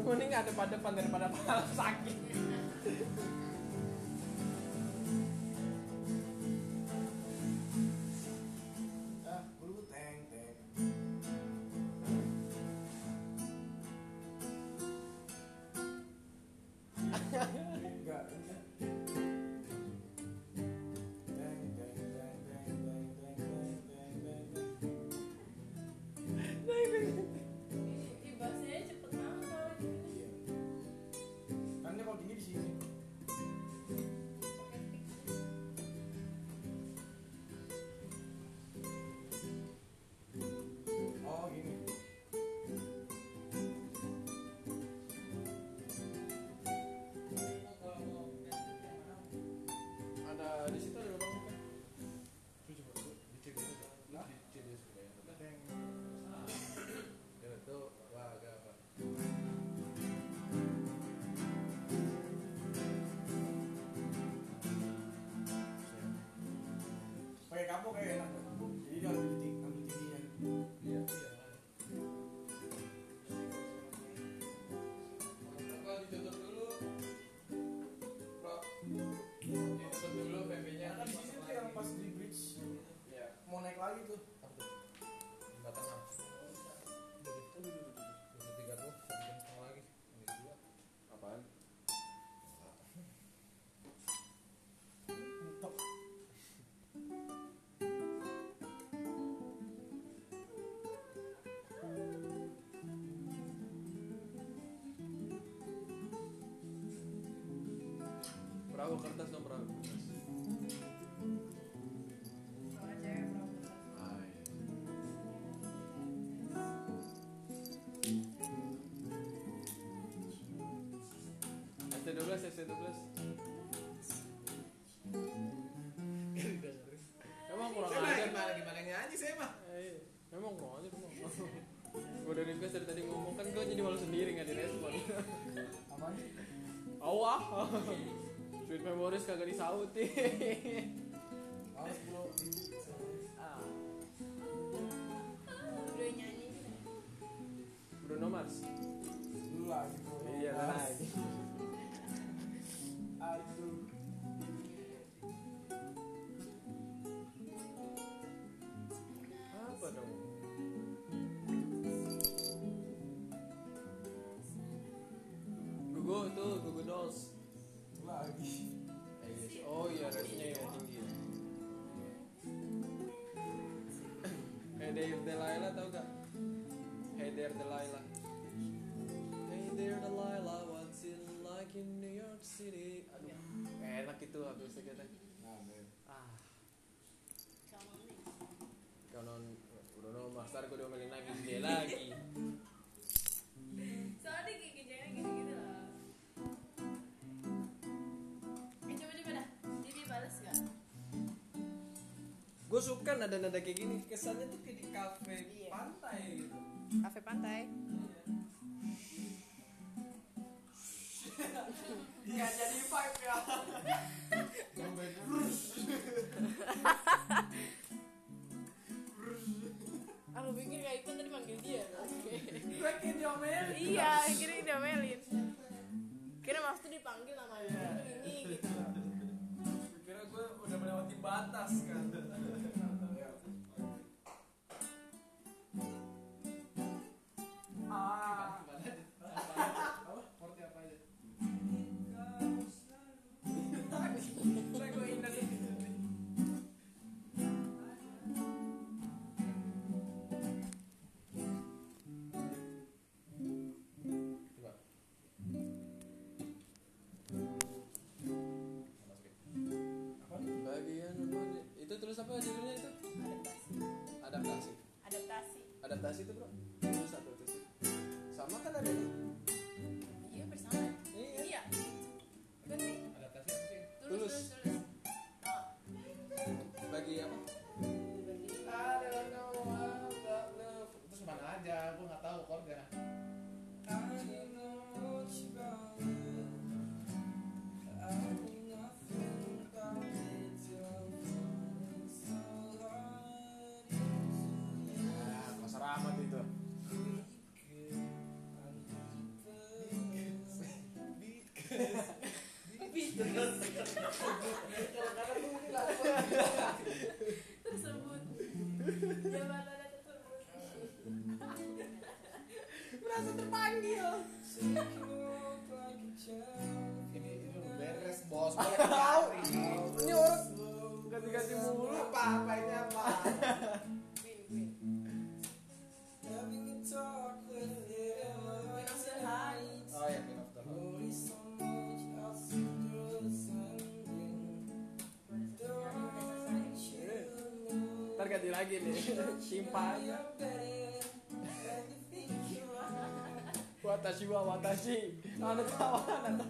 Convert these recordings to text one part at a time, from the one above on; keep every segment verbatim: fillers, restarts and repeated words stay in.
Mending ada pada depan daripada pala sakit. Ah, bulu teng teng. Enggak. Teng teng teng teng teng teng teng teng teng. Ih, bahasanya cepet banget kalau gitu. Iya. Kan dia kalau tinggi di sini. Pakai tik. Oh, gini. Ada di situ ada lubang bukan? Itu coba tuh dicek dulu. Lah, dicek dulu supaya. Teng. Ya itu wah agak apa? Pakai kapok kayak enak. Jadi dia ambil tinggi, ambil tingginya. Iya, iya. Apa ditutup dulu? Bro. Ditutup dulu P P-nya. Kan di sini tuh yang pas di bridge Iya. mau naik lagi tuh. Apa tuh? Jembatan apa? Dua tiga tuh, satu jam setengah lagi. Ini dua. Apaan? Mentok. Perahu kertas dong perahu kertas. Soalnya cewek perahu. Ah, iya. S T dua belas, S T dua belas. Emang kurang Saya ajar. gimana gimana nyanyi saya mah. Eh, memang kurang ajar memang. Gue udah request dari tadi ngomong kan gue jadi malu sendiri nggak direspon. Apaan? Awah. Sweet memories kagak disautin. Harus bro. Ah, Udah nyanyi gitu. Bruno Mars. Dulu lagi bro. Iya lagi. Aduh. Apa dong? Gugu tuh, Gugu Dolls. Lagi. Eh, yes. Oh iya, resnya ya tinggi. Hey there Delilah tau gak? Hey there Delilah. Hey there Delilah, what's it like in New York City? Aduh, enak itu habis itu kita. Nah, men. Ah, Kamu nih. kau non udah non master gue diomelin lagi dia lagi. Soalnya dia kayak kerjanya gitu-gitu loh. Eh coba-coba dah. Jadi balas gak? Gue suka nada-nada kayak gini, kesannya tuh kayak di kafe Iya. pantai gitu. Kafe pantai. Iya jadi vibe ya. Aku pikir kayak Ipan tadi manggil dia. Gue kayak diomelin. Iya, kira diomelin. Kira maksudnya dipanggil nama dia ini gitu. Kira gue udah melewati batas kan. Ah. Apa? Porti apa aja? Saya gue ingat ini. Coba. Apa? Bagian itu terus apa judulnya itu? Adaptasi. Adaptasi. Adaptasi. Adaptasi itu bro. Terus satu terus. Sama kan ada ini. Iya bersama. Iya. Iya. Berarti Adaptasi apa sih? tulis Tulus. tulis tulis. Oh. Bagi apa? Bagi I don't know about love. Terus mana aja? Gue nggak tahu chordnya. Ah, Mas Rahmat itu. merasa terpanggil. Ini ini udah beres bos. Tahu. Ini orang ganti-ganti mulu. Apa apa ini apa? Queen, Queen. Oh ya, Queen of the Heart. Ntar ganti lagi nih. Simpanya. Watashi wa watashi. Anata wa anata.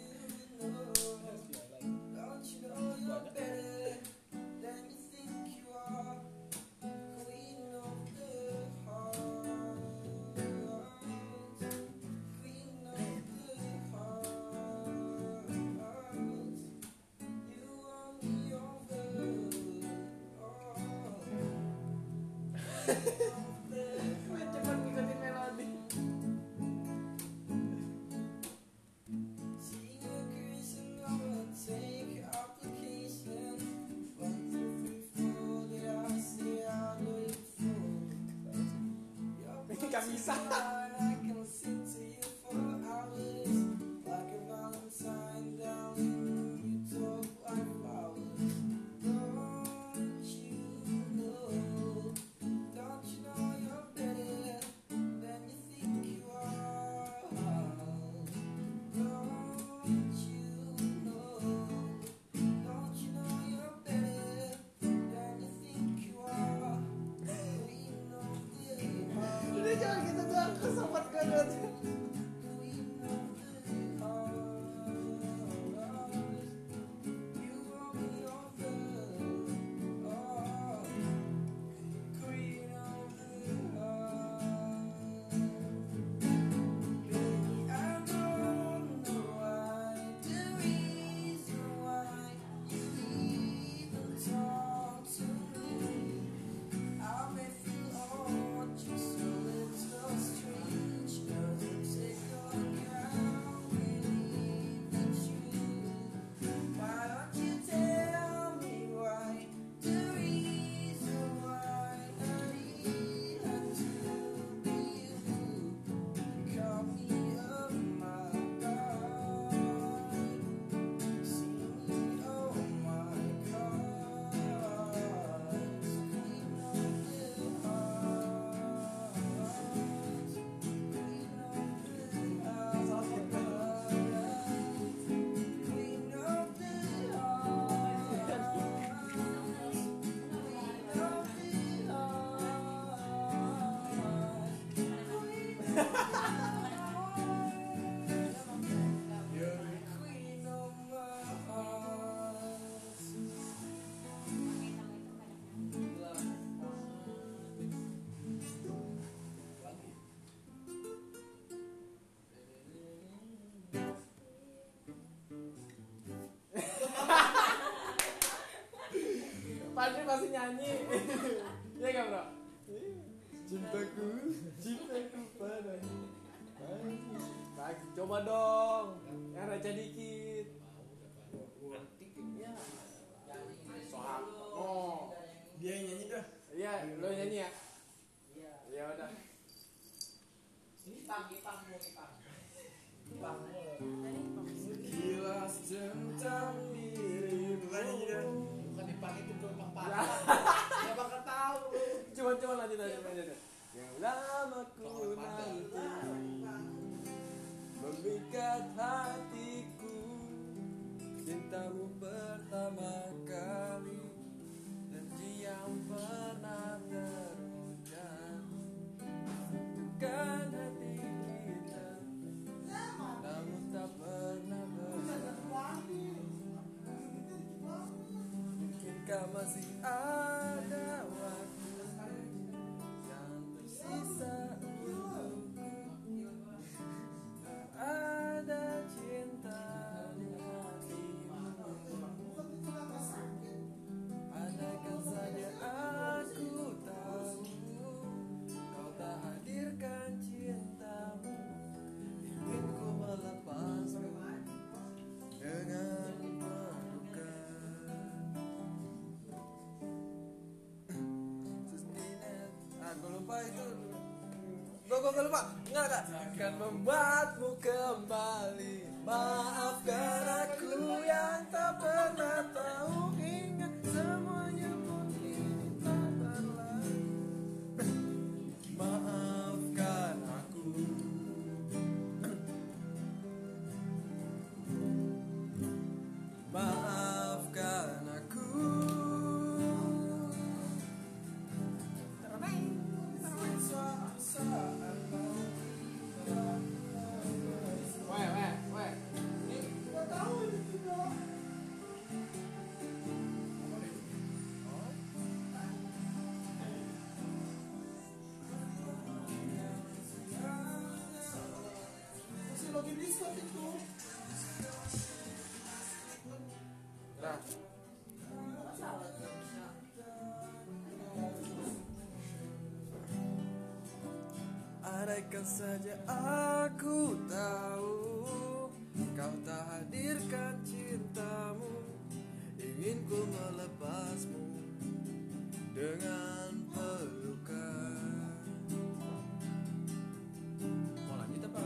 Cepet ngikutin melodi. Ini gak bisa. Udah jangan gitu doang, kesobat banget. Padri pasti nyanyi. Iya gak bro? Cintaku, cintaku padamu. Lagi coba dong, yang receh dikit. Soal, oh, Dia yang nyanyi dah. iya, lo nyanyi ya. Ya udah. Sekilas tentang dirimu. Bukan nyanyi dah. Bukan dipakai itu gelombang patah. Dia bakal tahu. Coba coba lanjut lanjut lanjut. Yang lama ku nanti memikat hatiku, cintamu pertama kali dan yang pernah terujam. Bukan hati kita, namun tak pernah bersama. Mungkinkah masih ada waktu yang tersisa untukku? Ada cinta di hatimu. Andaikan saja aku tahu kau tak hadirkan cintamu, ingin ku melepasmu dengan pelukan. Sustinet, aku lupa itu. Bro, kok kok lupa. Enggak kak. Akan membuatmu kembali. Maafkan aku yang tak pernah tahu hingga semuanya pun kini tak berlalu. Maafkan aku. Maafkan aku. Weh, weh, weh. Ini gua tahu ini juga. Masih login Discord itu. Nah. Andaikan saja aku tahu kau tak hadirkan cintamu, ingin ku melepasmu dengan pelukan. Mau lanjut apa?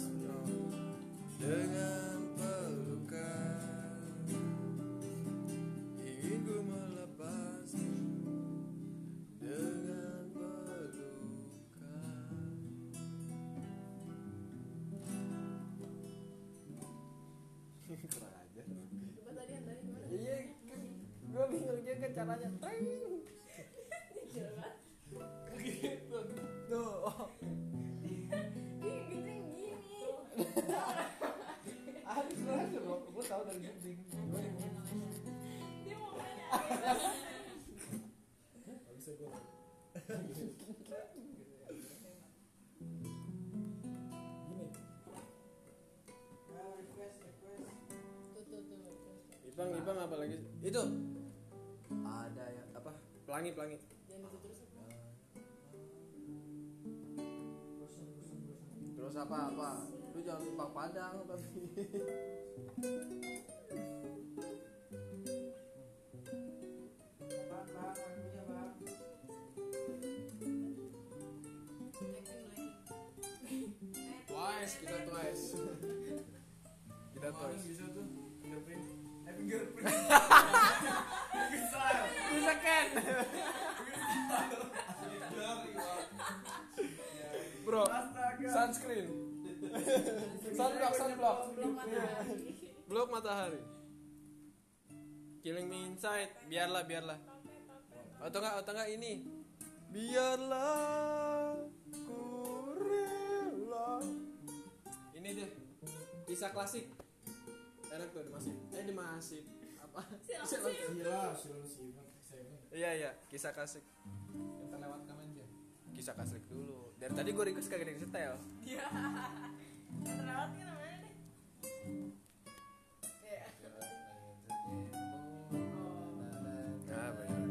Dengan pelukan, ingin ku melepasmu dengan pelukan. Kurang aja. Coba tadi yang tadi gimana? Iya, gue bingung juga caranya. Tring. Gitu. Tuh. Ih, gitu yang gini. Habis aja loh. Gue tahu dari dinding. Dia mau nanya. Gak bisa gue. Gini. Ah, request, request. Tuh tuh tuh. Ipang, Ipang apa lagi? Itu. Ada yang apa? Pelangi, pelangi. Jangan itu terus apa? Bosan, bosan, bosan. Terus apa apa? Lu jangan Ipang Padang tapi. Bang, bang, lagunya bang. Acting lagi. Twice, kita twice. Kita Kemarin twice. bisa tuh fingerprint. Eh fingerprint. Bisa. Bisa kan? Bro, Astaga. sunscreen. Sunblock, sunblock. Belum matahari. Blok matahari. Killing me inside. Biarlah, biarlah. Atau enggak, atau enggak ini. Biarlah ku rela. Ini deh. Kisah klasik. Enak tuh di Masif. Eh di Masif. Apa? Siapa Siapa? sih? Sila, Sila Seven, Seven. Iya, iya, kisah klasik. Yang terlewatkan aja. Kisah klasik dulu. Dari tadi gue request kagak ada yang setel. Iya. Terlewat kan namanya deh. Iya. Nah, benar.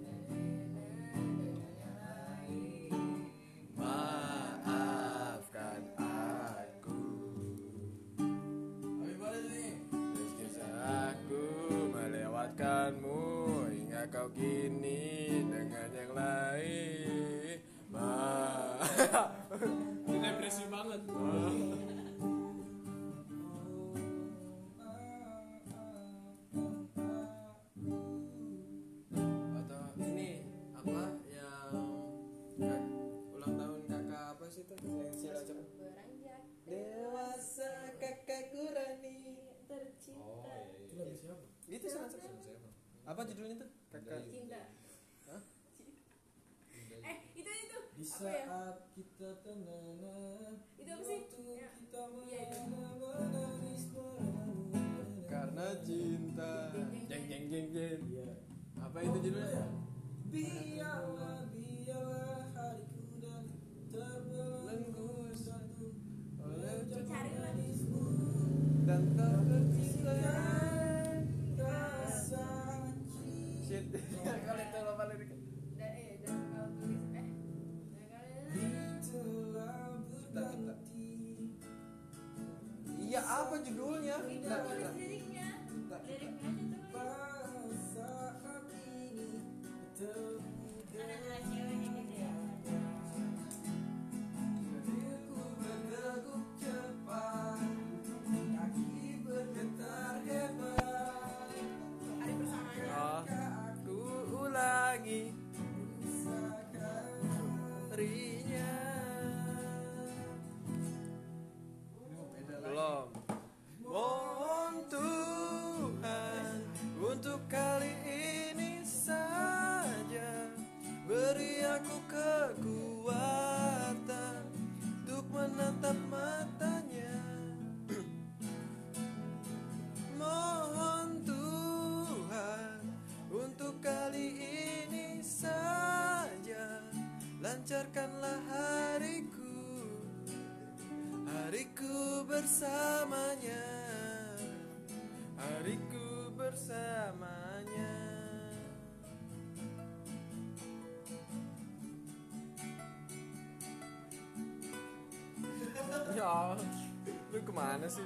Maafkan aku. Tapi boleh nih. Kisah aku melewatkanmu hingga kau kini dengan yang lain. Ma, ini depresi banget. Atau ini apa yang kak- ulang tahun kakak apa sih tuh yang sila cepet? Beranjak Dewasa kakak Kurani. tercinta. Itu lagu siapa? Itu sangat apa judulnya tuh? Kakak. Cinta. Hah? Eh, itu itu. Di Apa ya? saat kita tenang. Itu apa sih? Waktu Ya. kita Iya, itu. menangis menangis. Karena cinta. Jeng jeng jeng jeng. Iya. Apa itu judulnya? Biarlah, biarlah hariku dan terbelenggu satu oleh Cari lah. manismu Dan tak tercinta. rasa Shit. Kali itu lupa liriknya. Dan eh dan kalau tulis eh dan kalau telah berganti. Iya apa judulnya? itu Nggak, tulis nggak. liriknya. Nggak. Liriknya aja tulis. Pada saat ini termuda Ada ceweknya gitu ya. lancarkanlah hariku, hariku bersamanya, hariku bersamanya. Ya, lu kemana sih?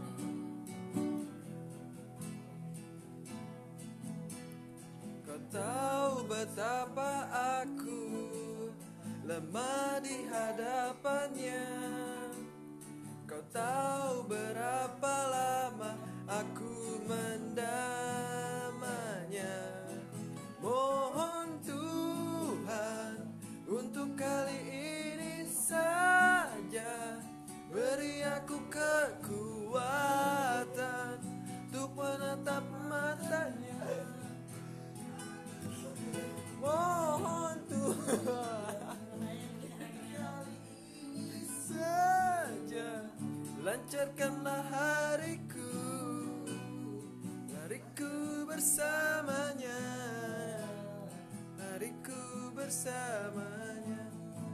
Kau tahu betapa aku lemah di hadapannya. Kau tahu berapa lama aku mendamanya. Mohon Tuhan untuk kali ini saja beri aku kekuatan untuk menatap matanya. Mohon Tuhan saja lancarkanlah hariku, hariku bersamanya, hariku bersamanya.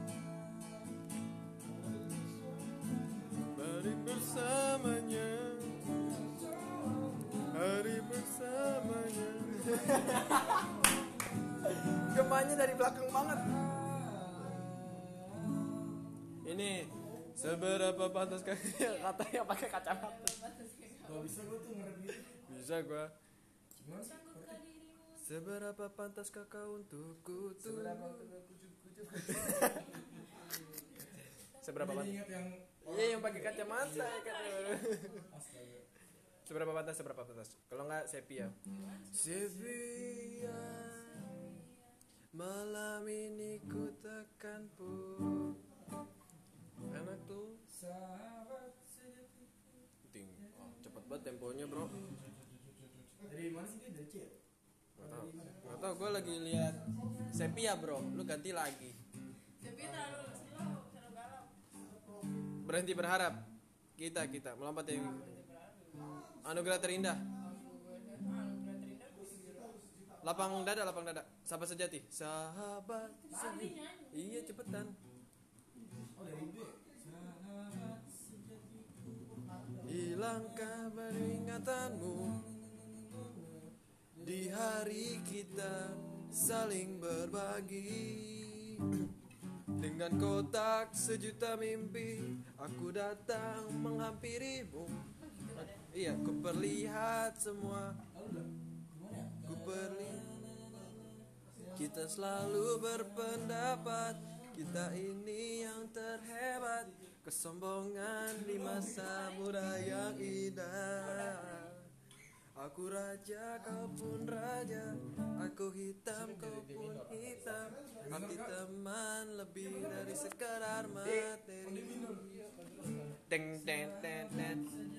Hari bersamanya, hari bersamanya. Gemanya dari belakang banget. Ini seberapa pantas katanya pakai kacamata. Gak bisa gue tuh ngerep gitu. Bisa gua. Gimana sih? Seberapa pantas kakak untukku tuh? Seberapa kucuk-kucuk. Seberapa pantas? Ingat yang Iya yang pakai kacamata ya kan. astaga. Seberapa pantas, seberapa pantas. Kalau enggak sepia. Sepia. Malam ini ku takkan pun. Enak tuh. Sahabat sejati. Ting. Oh, cepet banget temponya, Bro. Dari mana sih dia? Dari C? Enggak tahu. Enggak tahu, gua lagi lihat sepia, Bro. Lu ganti lagi. Tapi terlalu slow, terlalu galau. Berhenti berharap. Kita kita melompat yang anugerah terindah. Lapang dada, lapang dada. Sahabat sejati. Sahabat sejati. Iya, cepetan. Oh dari B. Sahabat sejati. Hilangkah peringatanmu di hari kita saling berbagi. Dengan kotak sejuta mimpi, aku datang menghampirimu. Iya, ku perlihat semua. Ku perlihat. Kita selalu berpendapat kita ini yang terhebat. Kesombongan di masa muda yang indah. Aku raja, kau pun raja. Aku hitam, kau pun hitam. Arti teman lebih dari sekadar materi. Teng teng teng teng.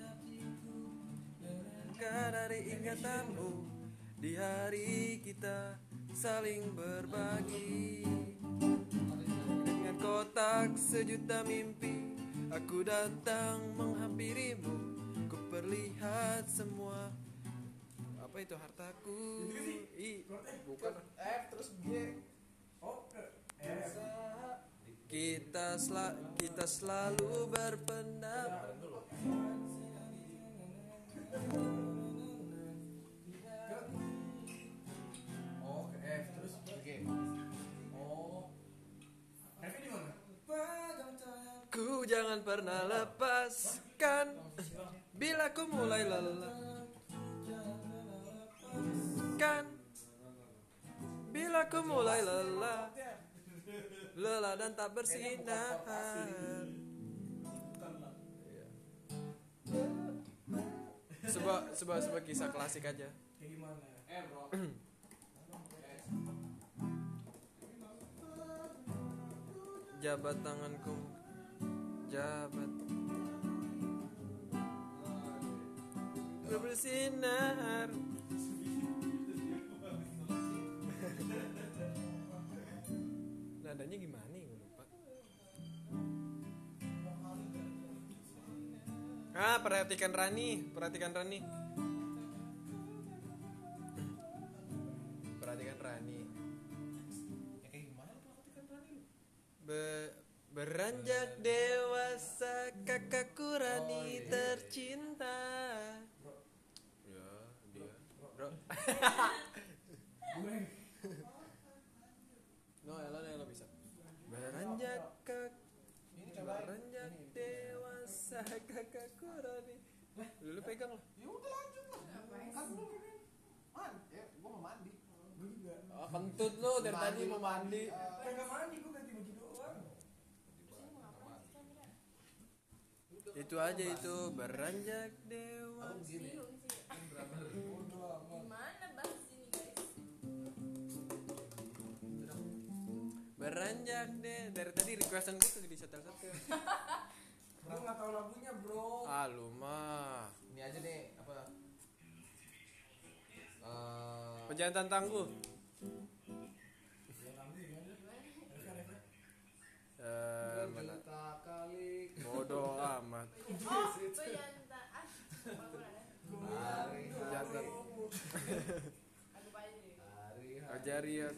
Dari ingatanmu di hari kita saling berbagi. Dengan kotak sejuta mimpi, aku datang menghampirimu. Ku perlihat semua. Apa itu hartaku? I, bukan. F terus G. Oh, F. Kita sel kita selalu berpendapat. Oh, ke F terus ke G. Oh. F di mana? Ku jangan pernah lepaskan bila ku mulai lelah. Kan bila ku mulai lelah, lelah dan tak bersinar. Sebuah sebuah sebuah kisah klasik aja. Kayak gimana? Eh bro. Jabat tanganku, jabat. Bersinar. Nadanya gimana ya, gue lupa. Ah, perhatikan Rani, perhatikan Rani. Perhatikan Rani. Ya kayak gimana perhatikan Rani? dewasa kakakku Rani Oh, iya. tercinta. Ya, dia. Bro. Gue. No, elo elo bisa. Beranjak kak Ini coba. beranjak dewasa kakakku Rani. Lu pegang lah. Ya udah lanjut lah. Kan lu ini. Man, ya gua mau mandi. Gua juga. Oh, kentut lu dari tadi mau mandi. Kagak mandi, gua ganti baju doang. Itu aja itu beranjak dewasa. Abang gini. Bingung sih. Bodoh amat. Gimana bahas ini guys? Beranjak deh dari tadi requestan gue tuh di setel-setel. Gua enggak tahu lagunya, Bro. Ah lu mah. Ini aja deh, apa? Eh, Pejantan tangguh. Eh, mana? juta kali Bodoh amat. Oh, pejanta. Ah, apa ada? hari Pejantan. Aku aja deh. hari Ajari ya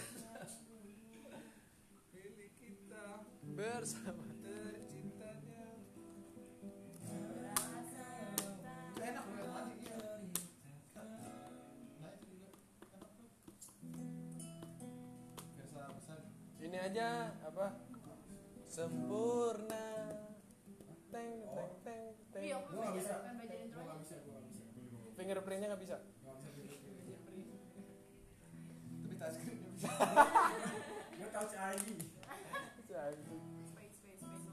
milik kita bersama. tercintanya. Enak banget mandi ya. Nah, itu juga enak tuh. Biasa pesan. Ini aja apa? Sempurna. Teng teng teng teng. Iya, aku Gua nggak bisa. kan belajar intro Gua aja. nggak bisa, gua nggak bisa. Fingerprintnya nggak bisa. Nggak bisa gitu. Tapi touchscreen-nya bisa. Gua touch I D. Space, space, space.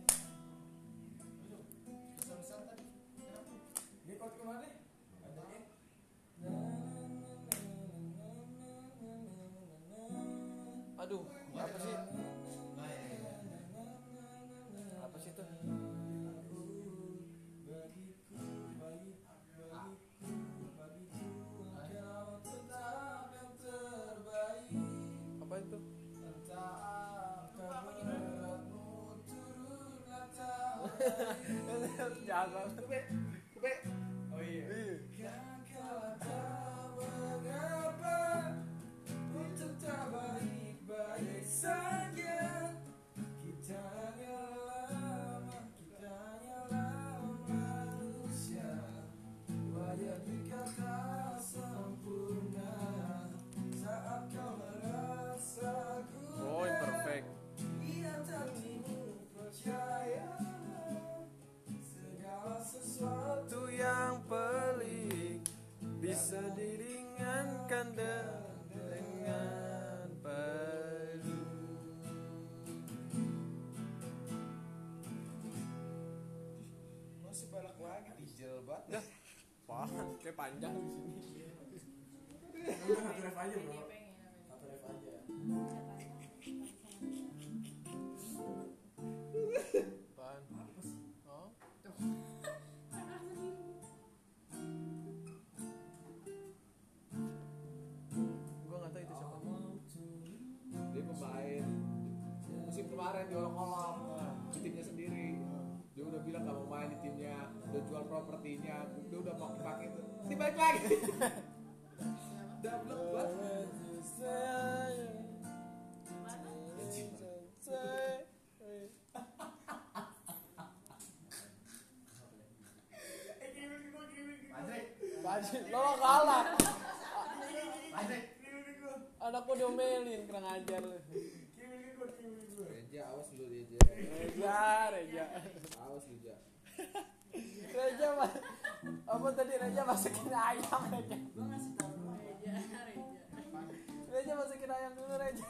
Pesan-pesan tadi. Kenapa? Ini kau kemana? Adanya. Aduh, apa sih? Nah, ya. Apa sih itu? Apa itu? Jangan. Kupe, kupe. Oh iya. Baik-baik saja. Kita lama, kita manusia. Wajah dikata sempurna saat kau merasaku. Oh, imperfect. Ia hatimu percaya segala sesuatu Yang pelik bisa diringankan dengan padu. masih balak lagi dijel banget. Apaan? Kayak panjang di sini. Satu ref aja bro. Dia pengen. Satu ref aja. Apaan? Apa sih? Oh? Gua nggak tahu itu siapa. Dia pemain musim kemarin diolok-olok di timnya sendiri. Dia udah bilang gak mau main di timnya, udah jual propertinya, dia udah pakai-pakai tuh. Dia balik lagi. Double banget. Bajin, lo kalah. Patrick. Anakku diomelin, kurang ajar lu. Reja, awas lu Reja. Reja, Reja. Awas Reja. Reja mah apa tadi Reja masukin ayam Reja. Gua ngasih tahu Reja, Reja. Reja masukin ayam dulu Reja.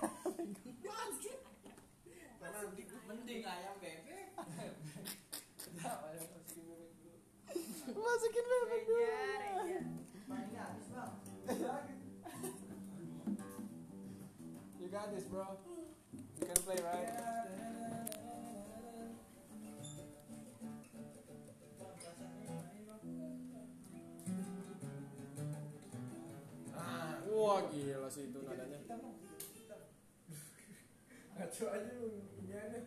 Karena mending ayam bebek. Masukin bebek dulu. Reja, Reja. Mainnya habis bang. You got this, bro. You can play, right? Wah gila sih itu nadanya. Ngaco aja lu ini aneh.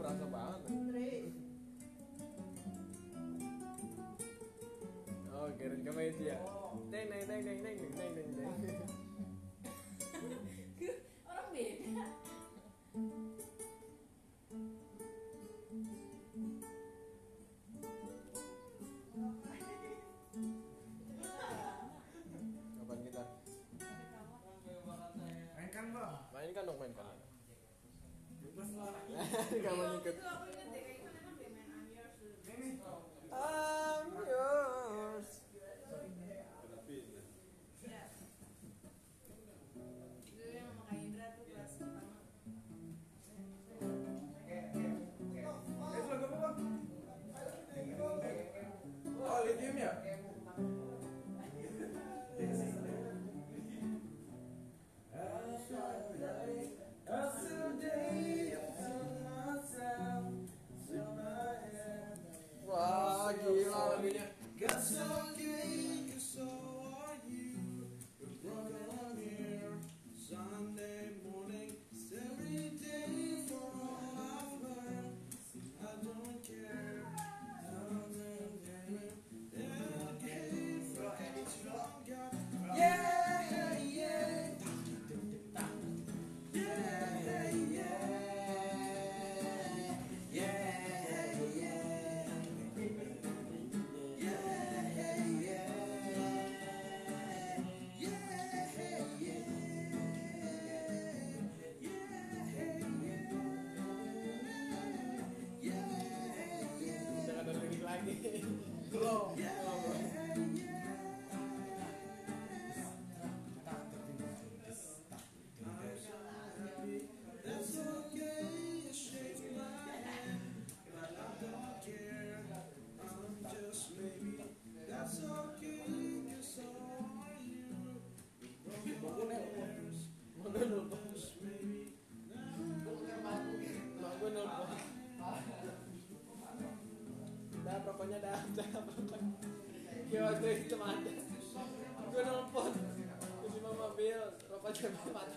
berasa banget. Oh, keren kemeja. Neng neng neng neng neng neng neng neng. Orang beda. Kapan kita? Mainkan bang. Mainkan dong, mainkan. Bebas lah. Kapan ikut? Itu aku ingat deh, kayaknya kan dia main I'm Yours dulu. Ini. I'm yours. Ya. Dulu yang sama Kak Indra tuh kelas pertama. Eh, lagu apa bang? Oh, lithium ya? Wah, gila lagunya. Jangan ada lagi lagi. Belum. Mak gue nelpon. Mak gue nelpon. Dah pokoknya dah, dah pokoknya. Kayak waktu itu ada. Gue nelpon. Terus si mama bil, rokoknya mati.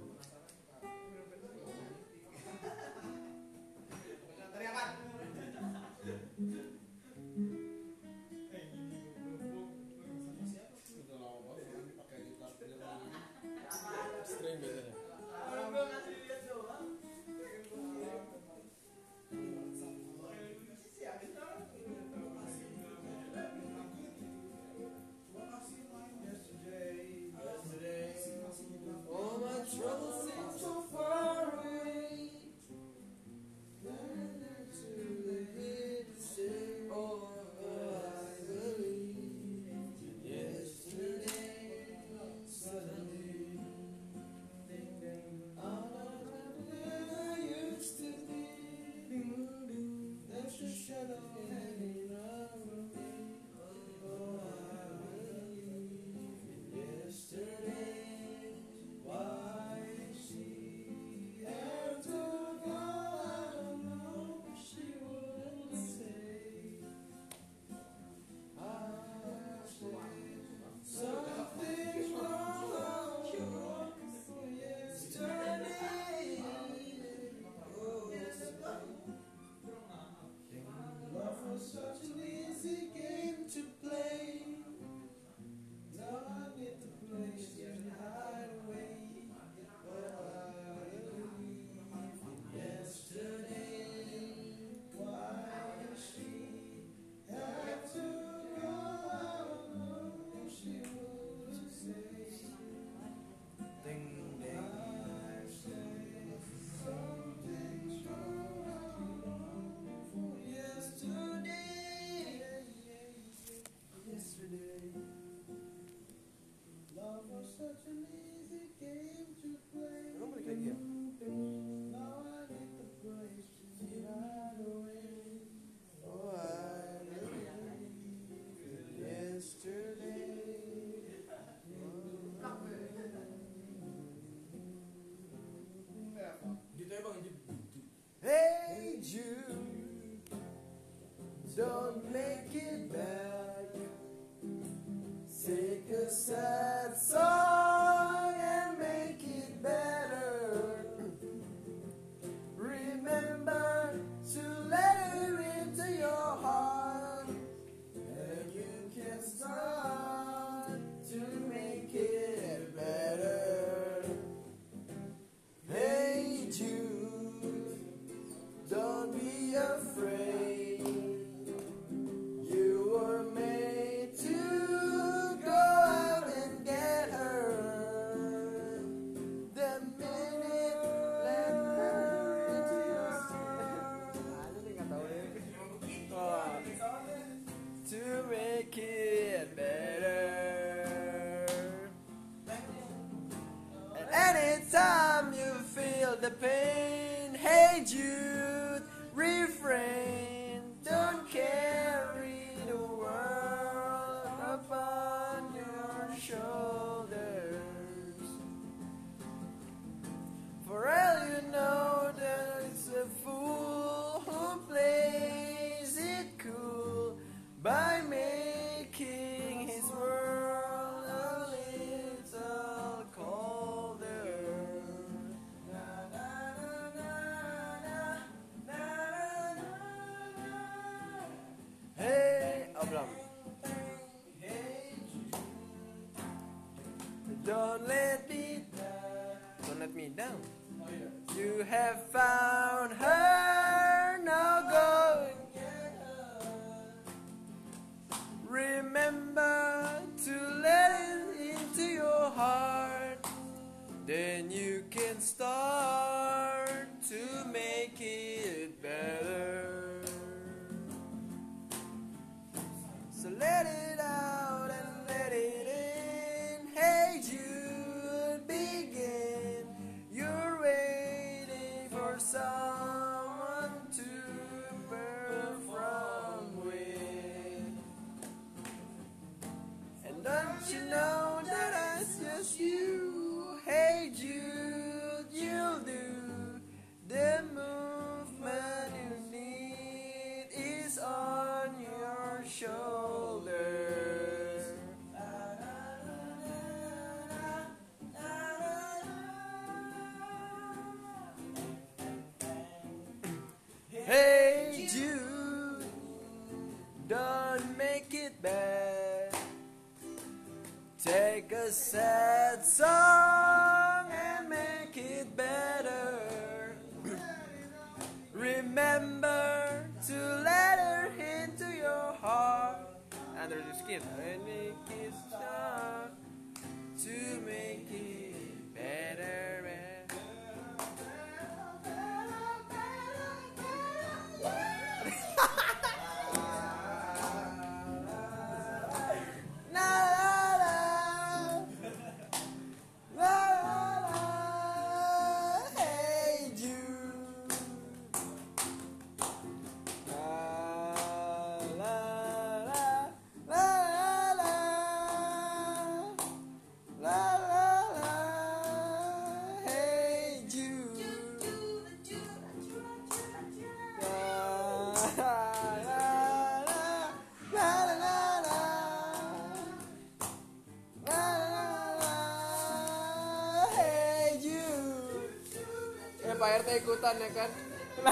String biasanya. All my troubles seem so far away. Too late to say all I believe. Yesterday, suddenly, all I used to be. There's a shadow hanging over me. Oh, I believe. Yesterday. Why she had to go, I don't know. She would say, I say something's wrong yesterday. Oh, love was such an easy game to play. Now I need the place to hide away. Love was such an easy game to play. Emang balik lagi ya? Now I need the place to hide away. Oh, I believe yesterday. Gitu ya bang, gitu. Hey Jude, don't make it back. Take a sad song and make it better. Remember the pain. Hey Jude, refrain. Don't carry the world upon your shoulders. For all you know that it's a fool who plays it cool by making his world a little colder. Hey, Abram. Don't let me Don't let me down. You have found her, now go and get her. Remember to let it into your heart. Then you can start to make it better. So let it out and let it in. Hey Jude, begin. You're waiting for someone to perform with. And don't you know that it's just you? Hey Jude, you'll do. The movement you need is on your shoulder. Hey Jude, don't make it bad. Take a sad song and make it better. Remember to let her into your heart under your skin and make it start to make it better. Pak R T ikutan ya kan?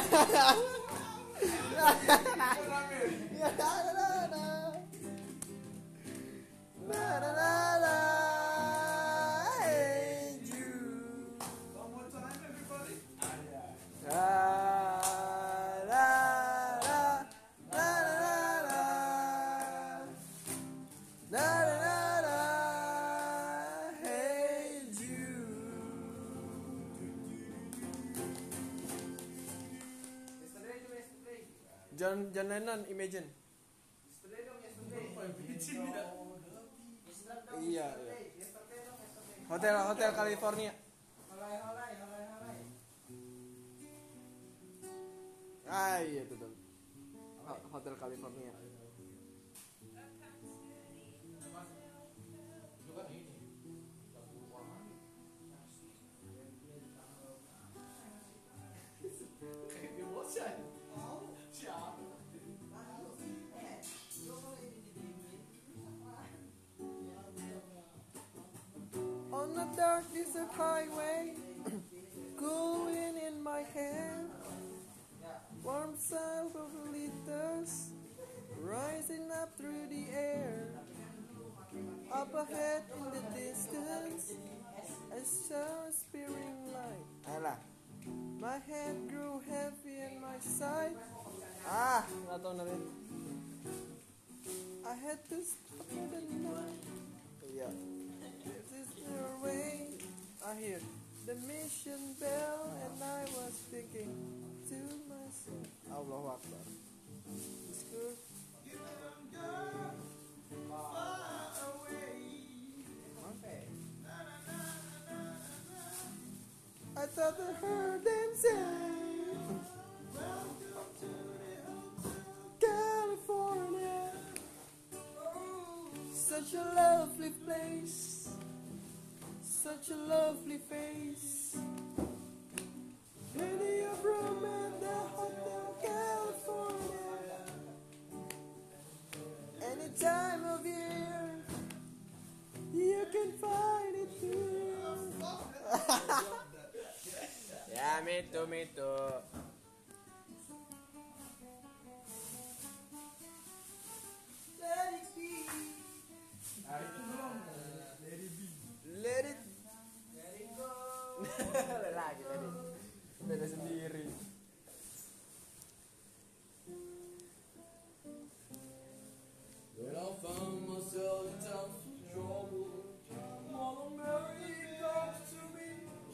Hey Jude. One more time, everybody. John John Lennon, Imagine. Iya, iya. Hotel Hotel California. Ah iya itu tuh. Hotel California. On the dark desert highway, cool wind in my hair, warm sound of liters rising up through the air. Up ahead in the distance, I saw a spearing light. Alah. My head grew heavy and my side. Ah, nggak tahu nanti. I had to stop for the night. Yeah. This is the way. I hear the mission bell and I was thinking to myself, Allahu Akbar. It's good. I thought I heard them say, California, such a lovely place, such a lovely face. Plenty of room at the Hotel California. Any time of year, you can find it here. Ya, me too, me too. Let it be. Let it. Let it go. Lagi tadi. Beda sendiri. When I found myself in times of trouble, Mother Mary comes to me.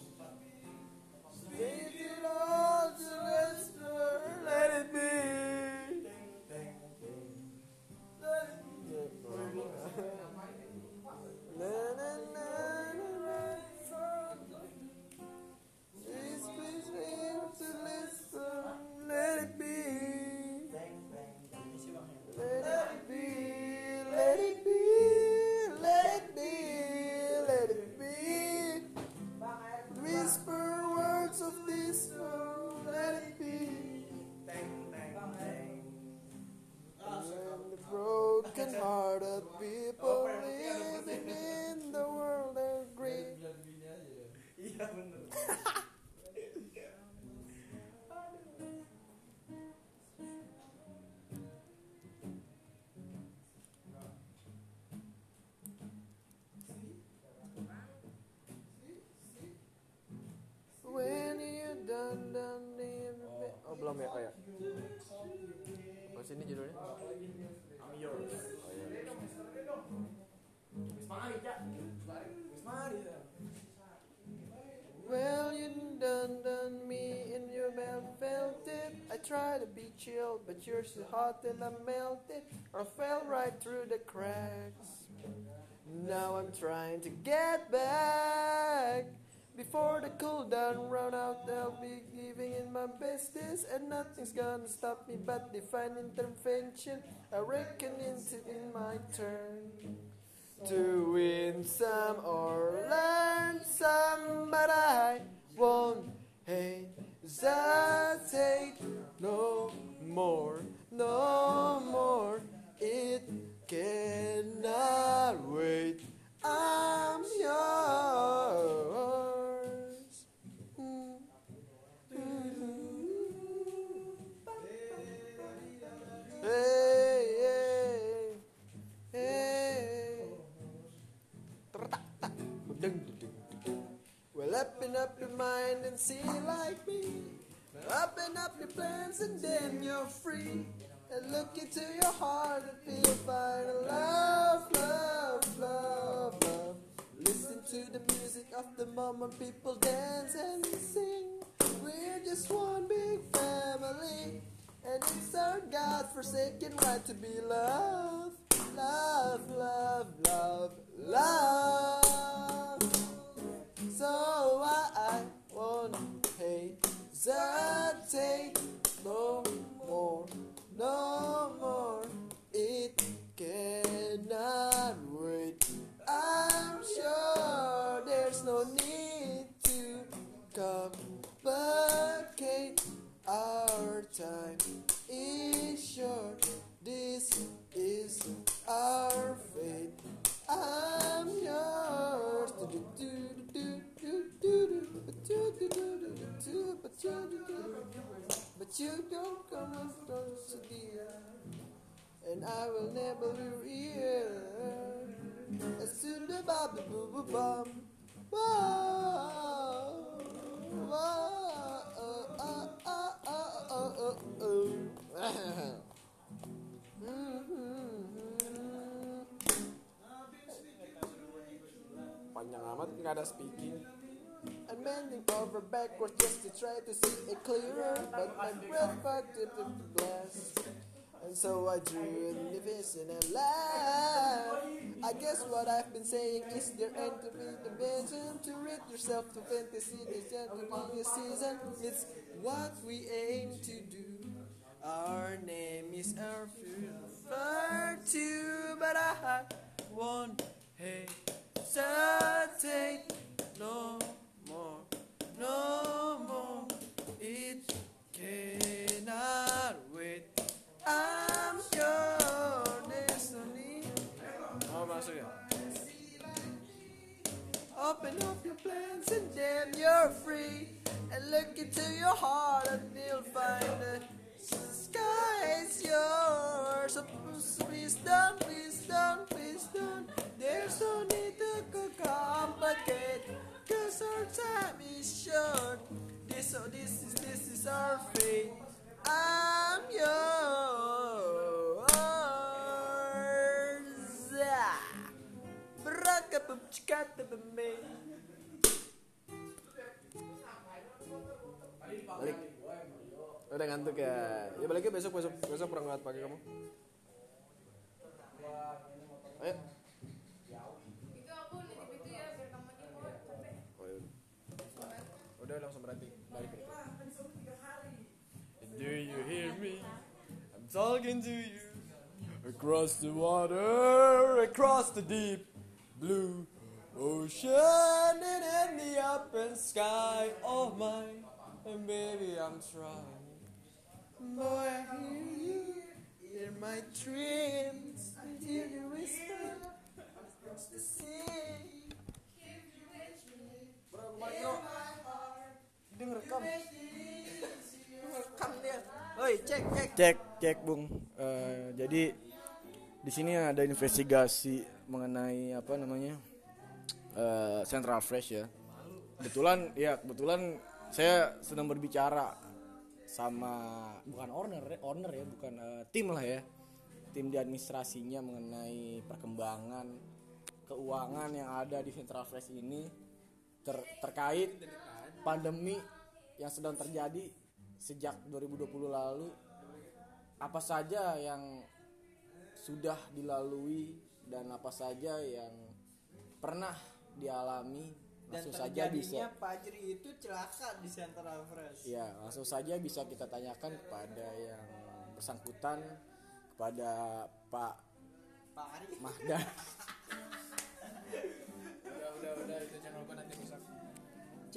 Take it all to Lester, let it be. Let it be. Na, na, na, na, na. Please, please, leave to Lester, let it be. Let it be, let it be, let it be, let it be. Whisper words of this world, let it be. And the broken hearted people living in the world agree. Iya bener. When you done done in the bed. Oh belum ya, oh ya. Oh sini judulnya. I'm yours. Oh iya. Well you done done me in your bed, felt it. I try to be chill, but you're so hot and I melted. I fell right through the cracks. Now I'm trying to get back. Before the cool down run out, I'll be giving in my bestest, and nothing's gonna stop me but divine intervention. I reckon it's in my turn to win some or learn some, but I won't hesitate no more, no more. It cannot wait. I'm yours. Hey, hey, hey. Well, open up your mind and see like me. Open up your plans and then you're free. And look into your heart and feel fine. Love, love, love, love. Listen to the music of the moment people dance and sing. We're just one big family, and it's our God-forsaken right to be loved. Love, love, love, love. So I, I won't hesitate no more, no more. It cannot wait. I'm sure there's no need to complicate. Our time is short. This is our fate. I'm yours. But you don't come as close, dear, and I will never be here. As soon as the boo boo bum. Whoa, whoa, oh, oh, oh, oh, oh, oh. Panjang amat nggak ada speaking. I'm bending over backwards just to try to see it clearer, but my breath fucked it with the blast. And so I drew the vision and laugh. I guess what I've been saying is there ain't to be the vision to rid yourself to fantasy. This gentleman season, it's what we aim to do. Our name is our future too, but I won't hesitate no more, no more. It cannot wait. I'm your destiny. Oh, masuk ya. Open up your plans and then you're free. And look into your heart and you'll find the sky is yours. So please don't, please don't, please don't. There's no need to complicate, cause our time is short. This, oh, this is, this is our fate. I'm yours. Brakapupchikatapame. Balik. Udah ngantuk ya. Ya baliknya besok besok besok berangkat pagi kamu. Ayo. Oh, ya. Udah langsung berhenti. Balik. Do you hear me? I'm talking to you. Across the water, across the deep blue ocean and in the open sky of mine. And baby, I'm trying. Boy, I hear you in my dreams. I hear you whisper across the sea. Bro, bro. Dia ngerekam. Ngerekam dia. Oi, cek, cek. Cek, cek, Bung. Uh, jadi di sini ada investigasi mengenai apa namanya? Uh, Central Fresh ya. Kebetulan ya, kebetulan saya sedang berbicara sama bukan owner, owner ya, bukan uh, tim lah ya. Tim di administrasinya mengenai perkembangan keuangan yang ada di Central Fresh ini ter- terkait pandemi yang sedang terjadi sejak dua ribu dua puluh lalu. Apa saja yang sudah dilalui dan apa saja yang pernah dialami, langsung saja bisa. Dan Fajri itu celaka di Central Fresh. Ya, langsung saja bisa kita tanyakan kepada yang bersangkutan, kepada Pak Pak Ari Mahdan. udah udah udah itu channel gue nanti rusak.